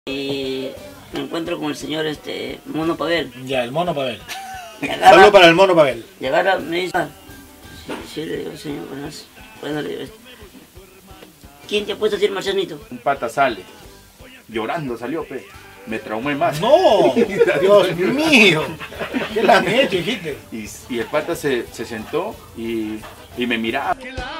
Y me encuentro con el señor Mono Pavel. Ya, el Mono Pavel. Saludos para el Mono Pavel. Llegara, me dice, sí, le digo, señor, buenas. Bueno, le digo, ¿quién te ha puesto a decir Marcianito? Un pata sale, llorando salió, pe. Me traumé más. ¡No! ¡Dios mío! ¿Qué le han hecho, hijite? Y el pata se sentó y me miraba.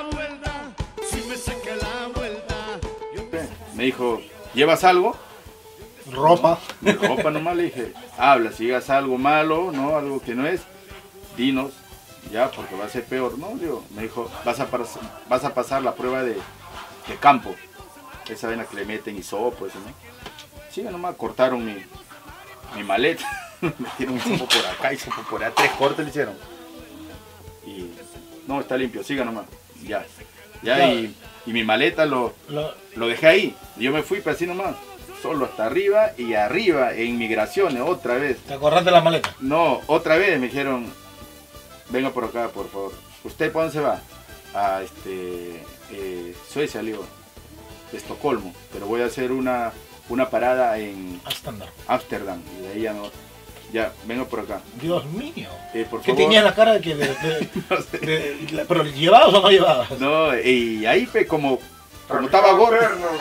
Me dijo, ¿llevas algo? Ropa. Ropa nomás, le dije, habla, si llegas algo malo, no, algo que no es, dinos, ya, porque va a ser peor, ¿no? Digo, me dijo, vas a pasar la prueba de campo, esa vaina que le meten hisopo, eso, ¿no? Sí, nomás cortaron mi maleta, metieron hisopo por acá, hisopo por allá, 3 cortes le hicieron. Y, no, está limpio, siga nomás, ya. Claro. Y mi maleta lo dejé ahí, yo me fui, pero así nomás. Solo hasta arriba y arriba en migraciones, otra vez. ¿Te acordaste de la maleta? No, otra vez me dijeron, venga por acá, por favor. ¿Usted para dónde se va? A Suecia, le digo, de Estocolmo. Pero voy a hacer una parada en Ámsterdam. Y de ahí ya, venga por acá. Dios mío. Por ¿Qué favor. tenías la cara de que No sé. ¿Pero llevabas o no llevabas? No, y ahí como estaba gordo.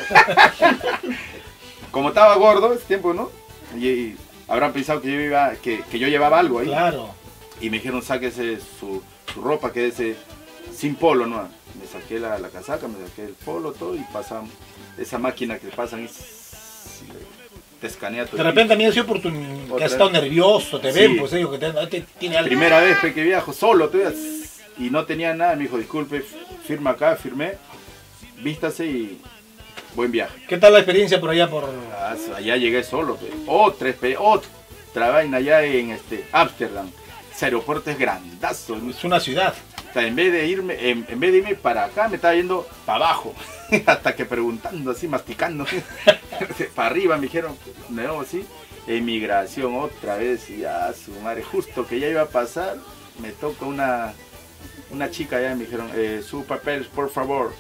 Como estaba gordo ese tiempo, ¿no? Y habrán pensado que yo llevaba algo ahí. Claro. Y me dijeron, sáquese su ropa, quédese sin polo, ¿no? Me saqué la casaca, me saqué el polo, todo, y pasamos esa máquina que pasan y te escanea todo. De repente a mí ha sido por que has estado nervioso, te ven, pues ellos que tiene algo. Primera vez que viajo solo, todavía, y no tenía nada, me dijo, disculpe, firma acá, firmé, vístase y buen viaje. ¿Qué tal la experiencia por allá? Allá llegué solo, otra vaina allá en Ámsterdam. Ese aeropuerto es grandazo. Es una ciudad. O sea, en vez de irme para acá, me estaba yendo para abajo. Hasta que preguntando así, masticando. Para arriba me dijeron, no, así. Emigración otra vez, y ya su madre, justo que ya iba a pasar, me toca una chica allá y me dijeron, su papel, por favor.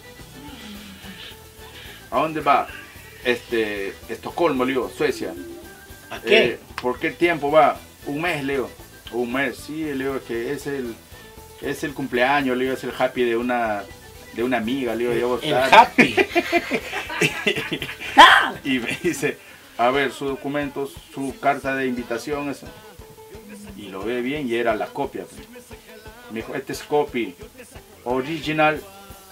¿A dónde va? Estocolmo, le digo, Suecia. ¿A qué? ¿Por qué tiempo va? Un mes, le digo. Un mes, sí, le digo que es el cumpleaños, le digo, es el happy de una amiga, le digo, el happy. Y me dice, a ver, sus documentos, su carta de invitación, eso. Y lo ve bien y era la copia. Me dijo, este es copy, original.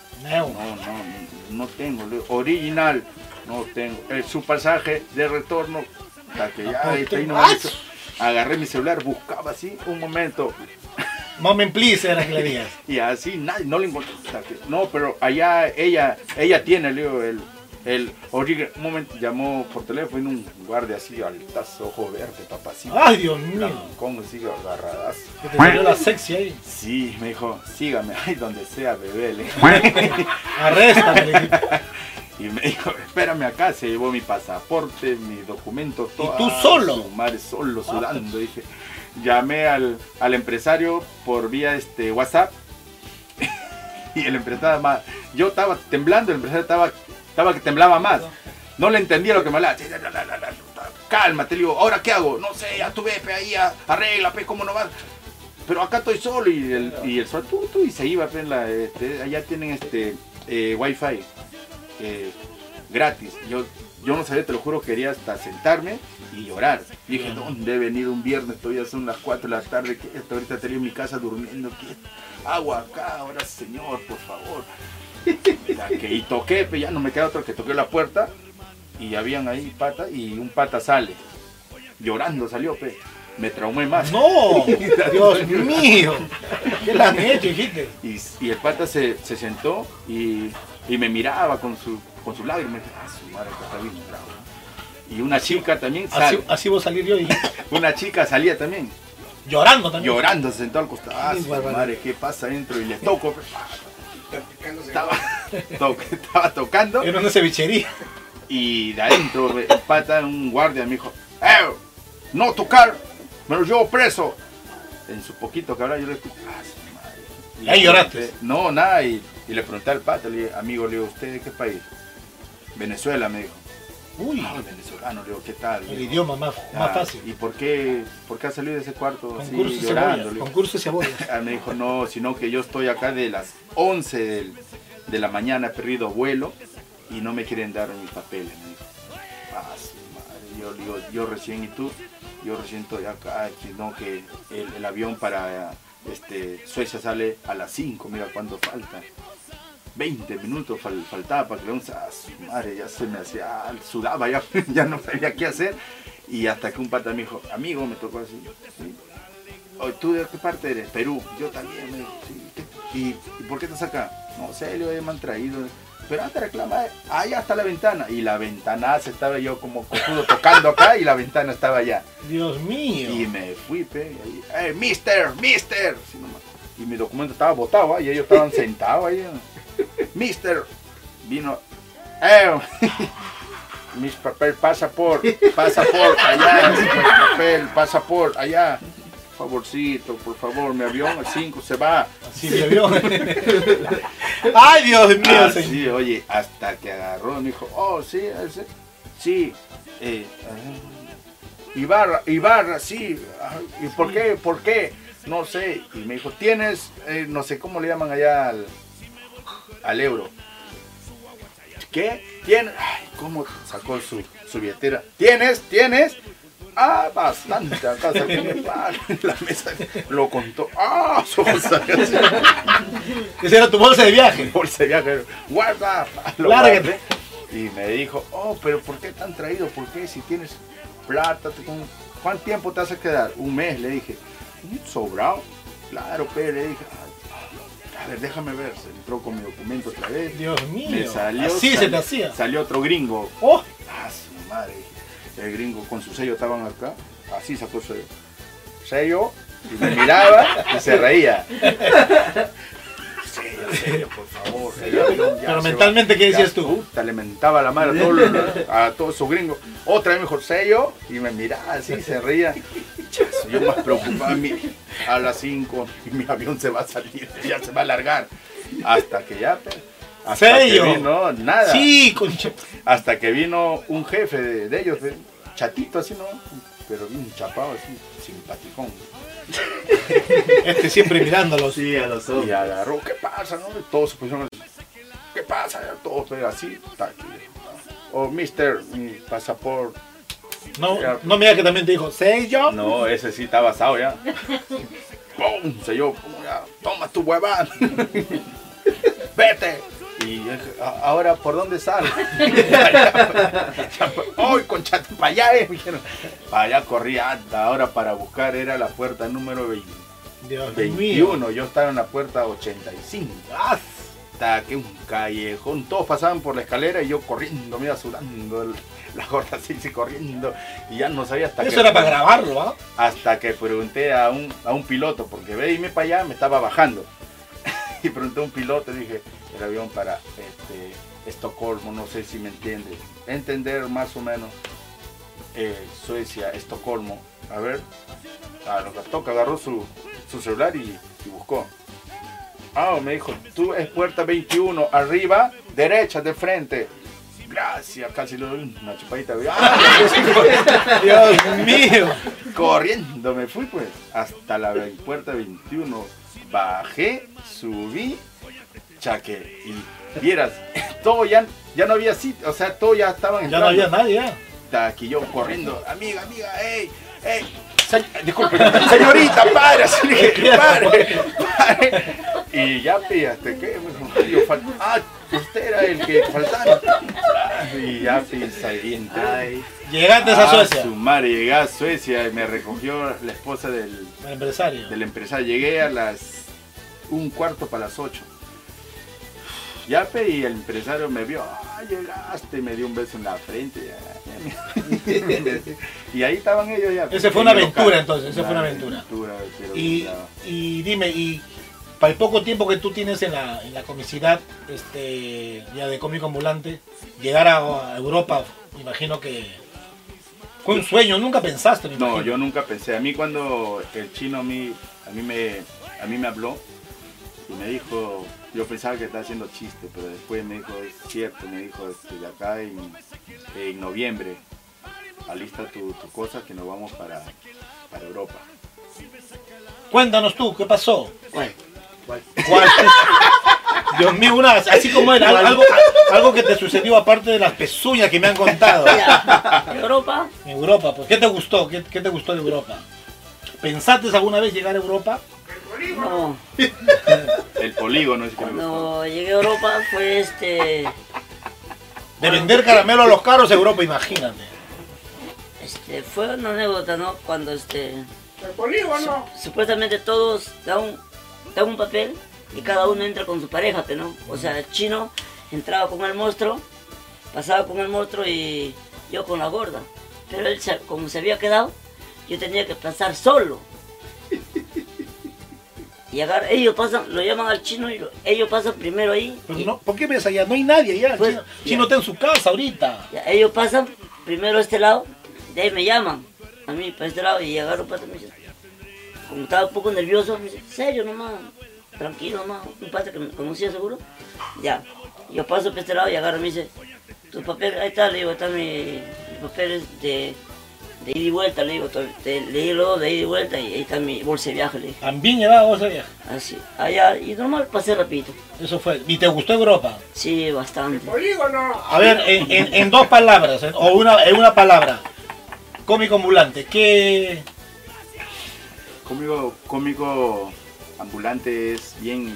No tengo, original, no tengo. Su pasaje de retorno, hasta que ya ahí no me hizo. Agarré mi celular, buscaba así, un momento. Moment please era que le digas. Y así, no le encontré. No, pero allá ella tiene, le digo, el original. Un momento, llamó por teléfono un guardia así, altazo, ojo verde, papacito. ¡Ay, Dios mío! ¿Cómo sigue agarradazo? Que te salió la sexy ahí. Sí, me dijo, sígame, ahí donde sea, bebé. Arréstame, le dije. Y me dijo, espérame acá, se llevó mi pasaporte, mis documentos, todo. ¿Y tú solo? Su madre solo, sudando. Dije, llamé al empresario por vía WhatsApp. Y el empresario yo estaba temblando, el empresario estaba que temblaba más. No le entendía lo que me hablaba. Cálmate, le digo, ¿ahora qué hago? No sé, ya tú ve, ahí, arregla, ¿cómo no vas? Pero acá estoy solo. Y el sol, y se iba, allá tienen wifi. Gratis. Yo no sabía, te lo juro, quería hasta sentarme y llorar. Y dije, ¿dónde he venido un viernes? Todavía son las 4 de la tarde, que ahorita tenía en mi casa durmiendo. Agua acá, ahora señor, por favor. Y toqué, ya no me queda otro que toqué la puerta y habían ahí pata y un pata sale. Llorando salió, me traumé más. ¡No! ¡Dios mío! ¿Qué le han hecho, hijite? Y el pata se sentó y me miraba con sus lágrimas. Su madre que está bien bravo. Y una chica también sale. Así vos salir yo, dijiste. Una chica salía también. Llorando también. Llorando, se sentó al costado. Su madre, ¿qué pasa adentro? Y le toco. Estaba tocando. Era una cevichería. Y de adentro, el pata, un guardia me dijo, no tocar, me lo llevo preso. En su poquito que hablaba yo le dije, su madre. ¿Ahí lloraste? No, nada, y le pregunté al pata, le dije, amigo, le digo, ¿usted de qué país? Venezuela, me dijo. Uy, venezolano, le digo, ¿qué tal? el Dijo, idioma más fácil. ¿y por qué has salido de ese cuarto Concurso así, de llorando? cebollas. Le digo. Concurso de cebollas. Me dijo, no, sino que yo estoy acá de las 11 de la mañana, he perdido vuelo y no me quieren dar mis papeles. Me dijo, su madre. Yo le digo, yo recién, ¿y tú? Yo recién estoy acá, no, que el avión para Suecia sale a las 5, mira cuánto falta. 20 minutos faltaba para que su madre, ya se me hacía, sudaba, ya no sabía qué hacer. Y hasta que un pata me dijo, amigo, me tocó así. ¿Sí? Oye, ¿tú de qué parte eres? Perú. Yo también, me dijo, sí. ¿Y por qué estás acá? No sé, me han traído. Pero antes reclama, allá está la ventana. Y la ventana se estaba yo como cojudo tocando acá y la ventana estaba allá. Dios mío. Y me fui, mister. Sí, nomás. Y mi documento estaba botado, y ellos estaban sentados ahí. Mister, vino, mis papel, pasaporte, allá, pasaporte, allá, favorcito, por favor, mi avión al 5 se va. Así mi avión. Ay, Dios mío, señor. Sí, oye, hasta que agarró, me dijo, oh, sí, sí, Ibarra, sí, ¿y por qué? No sé, y me dijo, tienes, no sé cómo le llaman allá al euro. ¿Qué? ¿Tienes? Ay, ¿cómo sacó su billetera? ¿Tienes? Bastante. Acá saqué la mesa, lo contó. Esa era tu bolsa de viaje. Bolsa de viaje. Guarda. Lárgate. Y me dijo, pero ¿por qué te han traído? ¿Por qué? Si tienes plata, ¿cuánto tiempo te vas a quedar? Un mes, le dije. ¿Sobrado? Claro, pero le dije, a ver, déjame ver. Se entró con mi documento otra vez. Dios mío. Me salió, así se te hacía. Salió otro gringo. Oh. Su madre. El gringo con su sello estaban acá. Así sacó su sello. Y me miraba y se reía. Sello, por favor. Pero mentalmente, ¿qué decías tú? Le mentaba la madre a todos esos gringos. Otra vez mejor sello. Y me miraba así, se reía. Yo más preocupado, a las 5 mi avión se va a salir, ya se va a largar. Hasta que ya, hasta que vino, nada. Sí, concha. Hasta que vino un jefe de ellos, chatito así, ¿no? Pero bien chapado, así, simpaticón. Siempre mirándolos. Sí, a los ojos. Y agarró, ¿qué pasa, no? Y todos se pusieron, ¿qué pasa? Todos, pero así, mister, mi pasaporte. No me digas que también te dijo, ¿sello? No, ese sí está basado ya. ¡Pum! Selló, ya, toma tu huevada. Vete. Y ahora, ¿por dónde sale? ¡Ay, concha! Para allá, dijeron. Para allá corría, ahora para buscar era la puerta número 21. Yo estaba en la puerta 85. Hasta que un callejón, todos pasaban por la escalera y yo corriendo, me iba sudando la gorda así corriendo, y ya no sabía hasta eso era para grabarlo, ¿ah? Hasta que pregunté a un piloto, porque veíme para allá, me estaba bajando. Y pregunté a un piloto y dije, el avión para Estocolmo, no sé si me entiende. Entender más o menos Suecia, Estocolmo. A ver, lo que toca, agarró su celular y buscó. Me dijo, tú es puerta 21, arriba, derecha, de frente. Gracias, casi le doy una chupadita. Dios mío. Corriendo me fui pues, hasta la puerta 21. Bajé, subí, chaque. Y vieras, todo ya no había sitio, o sea, todo ya estaban entrando. Ya no había nadie, ya. Está aquí yo corriendo, amiga, ey. Disculpe, señorita, pare, así le dije, pare. Y ya, hasta que usted era el que faltaba. Y ya, ahí entré. Llegaste a Suecia. Su madre, llegué a Suecia y me recogió la esposa del empresario. Llegué a las 7:45 Ya, y el empresario me vio, llegaste, me dio un beso en la frente. Y ahí estaban ellos ya. Esa fue una aventura entonces, esa fue una aventura. Y dime, y para el poco tiempo que tú tienes en la comicidad ya de cómico ambulante, llegar a Europa, me imagino que fue un sueño, nunca pensaste. No, yo nunca pensé. A mí cuando el chino a mí me habló y me dijo, yo pensaba que estaba haciendo chiste, pero después me dijo, es cierto, me dijo de acá y en noviembre. Alista tu cosa que nos vamos para Europa. Cuéntanos tú, ¿qué pasó? Bueno, ¿Cuál? Dios mío, así como era, algo que te sucedió aparte de las pezuñas que me han contado. ya, Europa, En Europa, pues, ¿qué te gustó? ¿Qué te gustó de Europa? ¿Pensaste alguna vez llegar a Europa? no. El polígono es que me gustó. Cuando llegué a Europa fue De vender caramelo a los caros a Europa, imagínate. fue una anécdota, ¿no? Cuando El polígono. supuestamente todos dan un papel y cada uno entra con su pareja, ¿no? O sea, el chino entraba con el monstruo, pasaba con el monstruo y yo con la gorda. Pero él, como se había quedado, yo tenía que pasar solo. Y ellos pasan, lo llaman al chino y ellos pasan primero ahí. Pero no, ¿por qué ves allá? No hay nadie allá. Pues, Chino está en su casa ahorita. Ya, ellos pasan primero a este lado, de ahí me llaman a mí para este lado y agarro pata y me dice, como estaba un poco nervioso, me dice, serio nomás, tranquilo nomás, un pata que me conocía seguro. Ya, yo paso para este lado y agarro y me dice, tu papel, ahí está, le digo, está mi papel es de ida y vuelta, le digo, le di luego de ida y vuelta y ahí está mi bolsa de viaje, le dije. También llevaba bolsa de viaje. Así, allá, y normal pasé rapidito. Eso fue. ¿Y te gustó Europa? Sí, bastante. Polígono. A ver, en dos palabras, o en una palabra. Cómico ambulante, ¿qué? Cómico ambulante es bien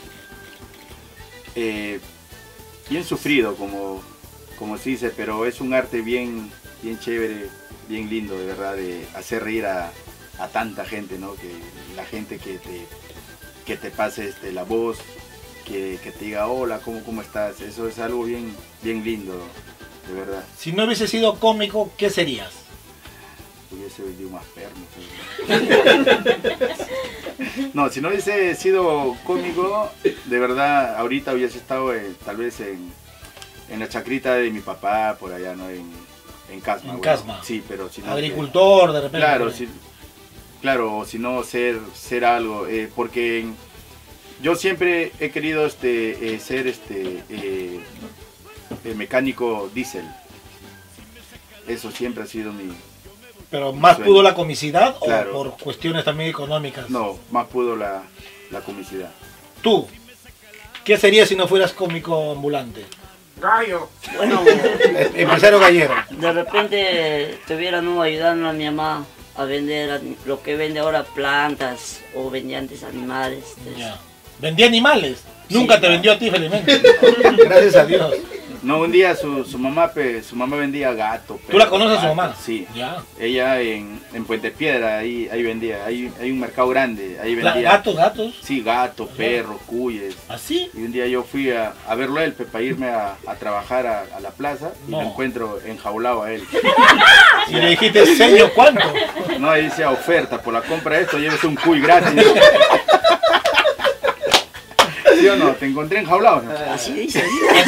sufrido, como se dice, pero es un arte bien chévere, bien lindo, de verdad, de hacer reír a tanta gente, ¿no? Que la gente que te pase la voz, que te diga hola, ¿cómo estás? Eso es algo bien lindo, de verdad. Si no hubiese sido cómico, ¿qué serías? Hubiese vendido más pernos. No, si no hubiese sido cómico, de verdad, ahorita hubiese estado tal vez en la chacrita de mi papá, por allá, ¿no? En Casma. En Casma. Sí, pero si no... Agricultor, de repente. Claro, o si no, ser algo, porque yo siempre he querido ser mecánico diésel. Eso siempre ha sido mi... ¿Pero más sueño. pudo la comicidad Claro. o por cuestiones también económicas? No, más pudo la comicidad. Tú, ¿qué serías si no fueras cómico ambulante? Gallo. Bueno, Empresario gallero. de repente estuvieran ayudando a mi mamá a vender lo que vende ahora, plantas o vendía antes animales. Ya. ¿Vendía animales? Nunca Sí. te vendió a ti, felizmente. Gracias a Dios. No, un día su mamá vendía gato. ¿Tú la conoces a su mamá? Sí. Ya. Ella en Puente Piedra, ahí vendía. Hay un mercado grande, ahí vendía. ¿Gatos? Sí, gatos, perros, cuyes. ¿Así? Y un día yo fui a verlo a él, para irme a trabajar a la plaza y No. lo encuentro enjaulado a él. Y le dijiste, señor, ¿cuánto? No, ahí dice oferta, por la compra de esto llévese un cuy gratis. ¿Sí o no? Te encontré enjaulado, ¿no? Así dice.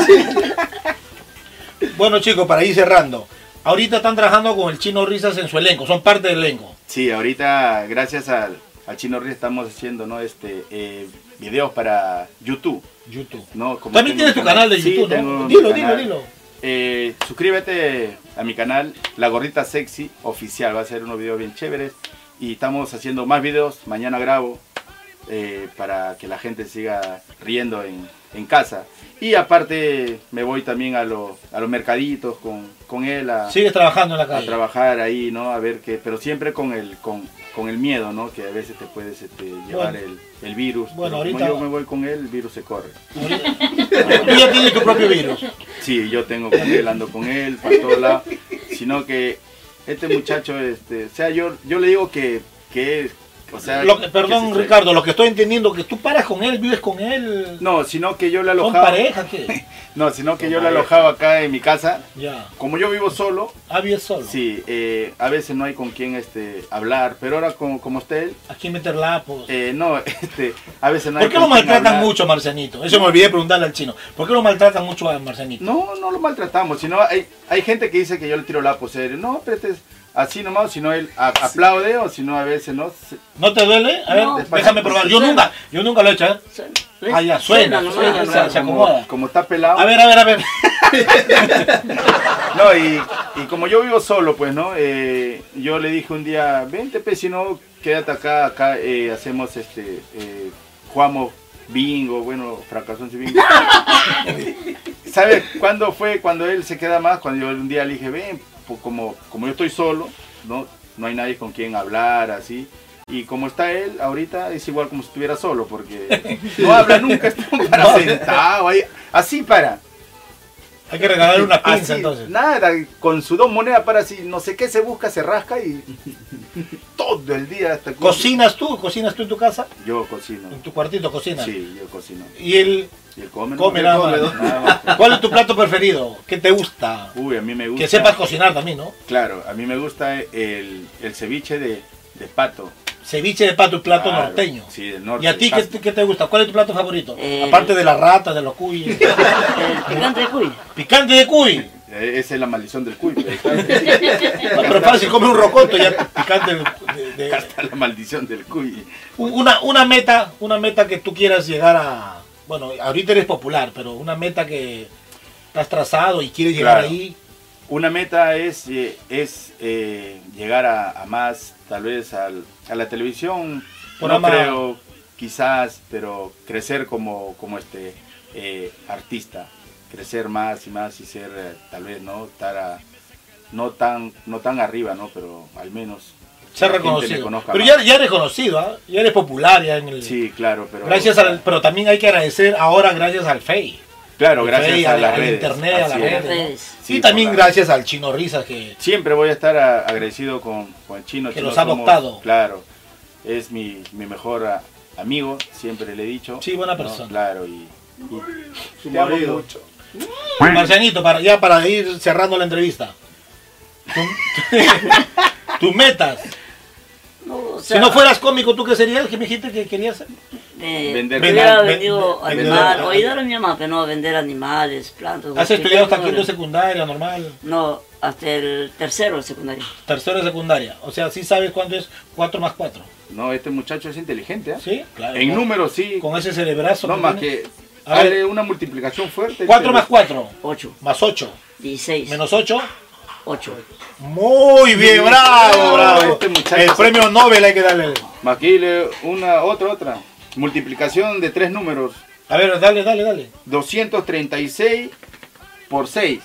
Bueno, chicos, para ir cerrando. Ahorita están trabajando con el Chino Risas en su elenco, son parte del elenco. Sí, ahorita gracias al Chino Ríos estamos haciendo, ¿no? Videos para YouTube. YouTube. ¿No? Como También tengo tienes tu un canal de Sí, YouTube, tengo ¿no? mi Dilo. canal. Suscríbete a mi canal, La Gordita Sexy Oficial. Va a ser unos videos bien chéveres. Y estamos haciendo más videos. Mañana grabo para que la gente siga riendo en casa. Y aparte me voy también a los mercaditos con él Sigues trabajando en la a calle. trabajar ahí, ¿no? A ver qué, pero siempre con el miedo, ¿no? Que a veces te puedes llevar Bueno. el virus. Bueno, Pero ahorita- como yo me voy con él, el virus se corre. Tú ya tienes tu propio virus. Sí, yo tengo con él, ando con él, para todos lados. Sino que este muchacho, o sea, yo le digo que o sea... Perdón, que se- Ricardo, lo que estoy entendiendo que tú paras con él, vives con él. No, sino que yo le ¿Son alojaba... pareja qué? No, sino que yo le alojaba acá en mi casa. Ya. Como yo vivo solo, Vives solo. sí, a veces no hay con quién hablar, pero ahora como está él, ¿A quién meter lapos? no, a veces no hay ¿Por qué con lo quién maltratan hablar. mucho a Marcenito? Eso me olvidé de preguntarle al chino. ¿Por qué lo maltratan mucho a Marcenito? No lo maltratamos, sino hay gente que dice que yo le tiro la serio. No, pero este es así nomás, sino él aplaude o si no a veces no. ¿No te duele? A ver, No. déjame probar. Yo nunca lo he hecho, ¿eh? ¿ves? Ah, ya, suena, nomás. se acomoda. Como está pelado. A ver. No, y como yo vivo solo, pues, ¿no? Yo le dije un día, vente, pues, si no, quédate acá hacemos jugamos bingo, bueno, fracasó en su bingo. ¿Sabes cuándo fue? Cuando él se queda más, cuando yo un día le dije, ven, pues, como yo estoy solo, no hay nadie con quien hablar, así. Y como está él, ahorita es igual como si estuviera solo, porque no habla nunca, está para sentado, ahí, así para. Hay que regalarle una pinza Así, entonces. nada, con su 2 monedas para así, no sé qué se busca, se rasca y todo el día hasta... ¿Cocinas tú? ¿Cocinas tú en tu casa? Yo cocino. ¿En tu cuartito cocinas? Sí, yo cocino. ¿Y él Y él come, come nada más? nada más. ¿Cuál es tu plato preferido? ¿Qué te gusta? Uy, a mí me gusta... Que sepas cocinar también, ¿no? Claro, a mí me gusta el ceviche de pato. Ceviche de pato, plato Claro, norteño. Sí, del norte. ¿Y a ti qué, Pasto. qué te gusta? ¿Cuál es tu plato favorito? Aparte de la rata, de los cuy. El picante de cuy. Picante de cuy. Esa es la maldición del cuy. No, pero fácil, come un rocoto ya picante Hasta la maldición del cuy. Una meta que tú quieras llegar a... Bueno, ahorita eres popular, pero una meta que te has trazado y quieres llegar Claro. ahí. Una meta es llegar a más, tal vez a la televisión, Programa- no creo, quizás, pero crecer como artista, crecer más y ser, tal vez, no estar no tan arriba, ¿no? Pero al menos Ser la gente me reconocido. conozca Pero más. ya eres conocido, ¿ah? Ya eres popular ya en el... Sí, claro, pero Gracias pero también hay que agradecer ahora gracias al Face. claro, Al gracias Face, a las al redes, internet, a así las es. redes. ¿no? Redes. Sí, Y también por la- gracias al Chino Risas que... Siempre voy a estar agradecido con el chino. Que Chino los ha somos- adoptado. Claro, es mi mejor amigo, siempre le he dicho. Sí, buena ¿no? persona. Claro, y Su te amo marido. mucho. Marcianito, para ir cerrando la entrevista. Tus metas. No, o Si sea, no fueras cómico, ¿tú qué serías? ¿Qué me dijiste que querías ser? Vender. yo hubiera Ven- vendido ven- animales, ven- o ayudar a mi mamá, pero no a vender animales, plantas. ¿Has porque estudiado hasta tengo- quinto de secundaria, normal? No, hasta el tercero de secundaria. Tercero de secundaria. O sea, sí sabes cuánto es 4 más 4. No, este muchacho es inteligente, ¿eh? ¿Sí? Claro. En ¿no? números sí. Con ese cerebrazo. No que más tiene. que A ver. darle una multiplicación fuerte. 4 más 4. 8, Más 8. 16, Menos 8. 8. Muy bien, bravo, bravo. Este muchacho El se- premio Nobel hay que darle. Más que dile otra. Multiplicación de 3 números. A ver, dale. 236 por 6.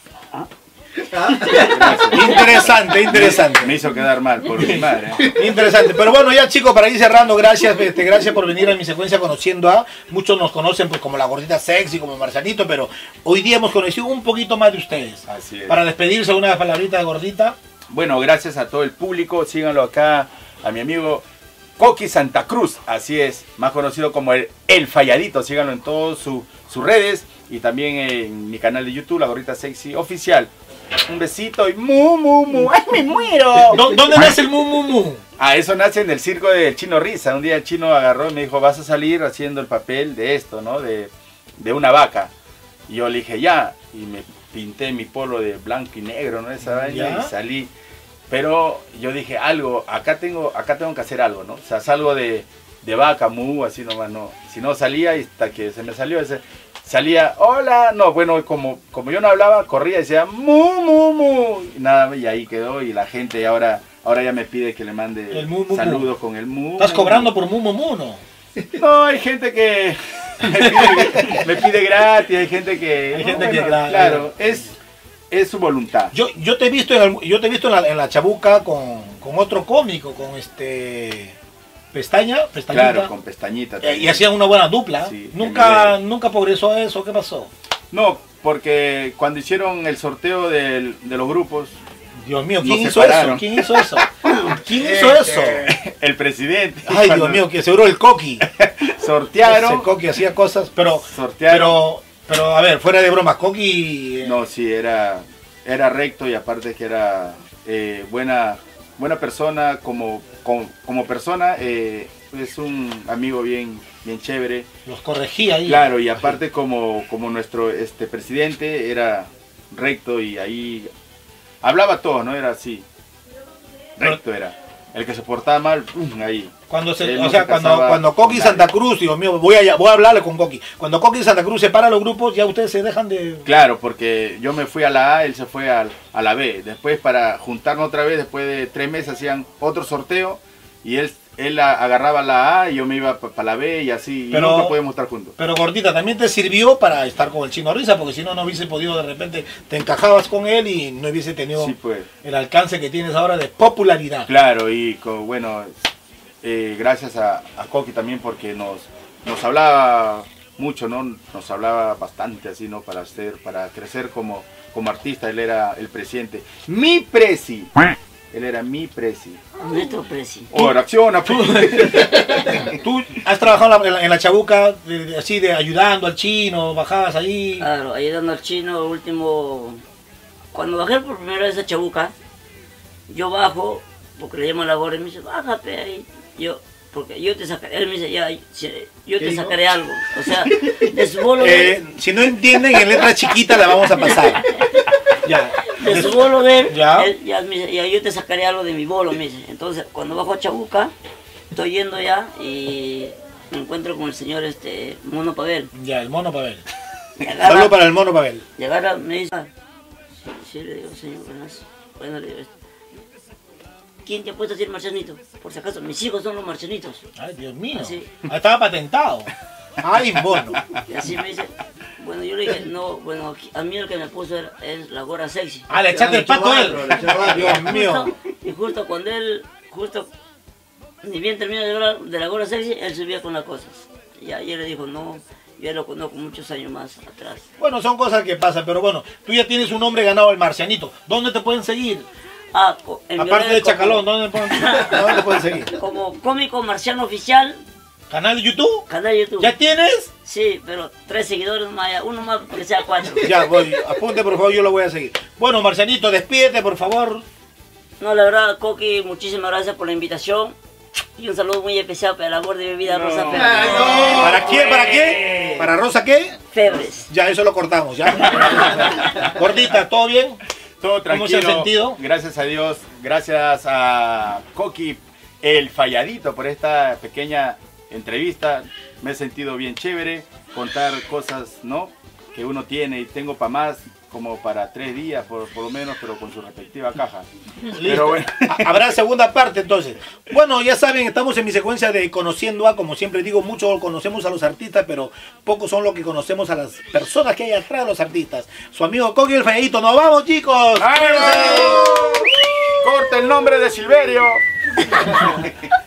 Interesante. Me hizo quedar mal por mi madre. Interesante, pero bueno, ya chicos, para ir cerrando, gracias por venir a mi secuencia Conociendo a. Muchos nos conocen pues como la gordita sexy, como Marcianito, pero hoy día hemos conocido un poquito más de ustedes. Así es. Para despedirse, una palabrita de gordita. Bueno, gracias a todo el público. Síganlo acá a mi amigo Coqui Santa Cruz. Así es, más conocido como el Falladito. Síganlo en todas sus redes y también en mi canal de YouTube, La Gordita Sexy Oficial. Un besito y mu. ¡Ay, me muero! ¿Dónde nace el mu? Ah, eso nace en el circo del Chino Risa. Un día el chino agarró y me dijo, vas a salir haciendo el papel de esto, ¿no? De una vaca. Y yo le dije, ya. Y me pinté mi polo de blanco y negro, ¿no? Esa vaina, ¿Ya? y salí. Pero yo dije, acá tengo que hacer algo, ¿no? O sea, salgo de vaca, mu, así nomás, no. Si no salía, y hasta que se me salió ese... Salía, hola, no, bueno, como yo no hablaba, corría y decía, mu, y nada, y ahí quedó, y la gente ahora ya me pide que le mande El mu, mu, saludos con el mu. ¿Estás mu, cobrando mu. por mu, no? No, hay gente que me pide gratis, hay gente que... Hay no, gente que, bueno, claro, es su voluntad. Yo te he visto en la Chabuca con otro cómico, con Pestañita. Claro, con pestañita. Y también. hacían una buena dupla. Sí, Nunca progresó eso. ¿Qué pasó? No, porque cuando hicieron el sorteo de los grupos, Dios mío, Nos ¿quién hizo separaron. eso? ¿Quién hizo eso? ¿Quién hizo eso? el presidente... Ay, cuando Dios mío, que seguro el Coqui. sortearon... Ese Coqui hacía cosas, pero a ver, fuera de bromas, Coqui... No, sí, era recto y aparte que era buena persona como persona, es un amigo bien chévere. Los corregía ahí. Claro, y aparte como nuestro presidente era recto y ahí hablaba todo, ¿no? Era así. Recto era. el que se portaba mal, ahí. Cuando Él no se cuando Coqui y casaba Santa con Cruz, Dios mío, voy a hablarle con Coqui. Cuando Coqui y Santa Cruz separan los grupos, ya ustedes se dejan de... Claro, porque yo me fui a la A, él se fue a la B. Después, para juntarnos otra vez, después de 3 meses hacían otro sorteo y él agarraba la A y yo me iba para la B y así, y nunca podíamos estar juntos. Pero Gordita, también te sirvió para estar con el Chino Risa, porque si no, no hubiese podido, de repente, te encajabas con él y no hubiese tenido Sí, pues. el alcance que tienes ahora de popularidad. Claro, y bueno, gracias a Coqui también porque nos hablaba mucho, ¿no? Nos hablaba bastante así, ¿no? Para crecer como artista. Él era el presidente. ¡Mi presi! Él era mi presi. Nuestro presi. ¡Oh, reacciona! Tú has trabajado en la Chabuca, así de ayudando al chino, bajabas ahí. Claro, ayudando al chino, último... Cuando bajé por primera vez a Chabuca, yo bajo, porque le llamo a la gorda y me dice, bájate ahí. Porque yo te sacaré, él me dice, ya, yo te sacaré algo. O sea, de su bolo de... Si no entienden, en letra chiquita la vamos a pasar. Ya. De su bolo de él, Ya. él ya me dice, ya yo te sacaré algo de mi bolo, me dice. Entonces, cuando bajo a Chabuca, estoy yendo ya y me encuentro con el señor Mono Pavel. Ya, el Mono Pavel. Saludos para el Mono Pavel. Y agarra, me dice, sí, le digo, señor, buenas. Bueno, le digo, ¿quién te ha puesto a decir marcianito? Por si acaso, mis hijos son los marcianitos. Ay, Dios mío. Así. Estaba patentado. Ay, Mono. Y así me dice, bueno, yo le dije, no, bueno, a mí el que me puso es la gorra sexy. Ah, le echaste el pato a él. Dios mío. Y justo cuando él, ni bien terminó de la gorra sexy, él subía con las cosas. Y ayer le dijo, no, yo ya lo conozco muchos años más atrás. Bueno, son cosas que pasan, pero bueno, tú ya tienes un nombre ganado, el Marcianito. ¿Dónde te pueden seguir? Ah, en Aparte mi de red Chacalón, ¿dónde te pueden seguir? como cómico marciano oficial, ¿Canal de YouTube? canal de YouTube. ¿Ya tienes? Sí, pero 3 seguidores más, uno más que sea 4. Ya, voy, apunte por favor, yo lo voy a seguir. Bueno, Marcianito, despídete por favor. No, la verdad, Coqui, muchísimas gracias por la invitación. Y un saludo muy especial para el amor de mi vida, Rosa Febres. ¿Para quién? ¿Para qué? ¿Para Rosa qué? Febres. Ya, eso lo cortamos, ¿ya? Gordita, ¿todo bien? Todo tranquilo. ¿Cómo se ha sentido? Gracias a Dios, gracias a Coqui, el falladito, por esta pequeña entrevista. Me he sentido bien chévere, contar cosas, ¿no?, que uno tiene y tengo para más, como para 3 días por lo menos, pero con su respectiva caja. Pero bueno. Habrá segunda parte entonces. Bueno, ya saben, estamos en mi secuencia de Conociendo a, como siempre digo, mucho conocemos a los artistas, pero pocos son los que conocemos a las personas que hay atrás de los artistas. Su amigo Coqui el Falladito, ¡nos vamos, chicos! ¡Corta el nombre de Silverio!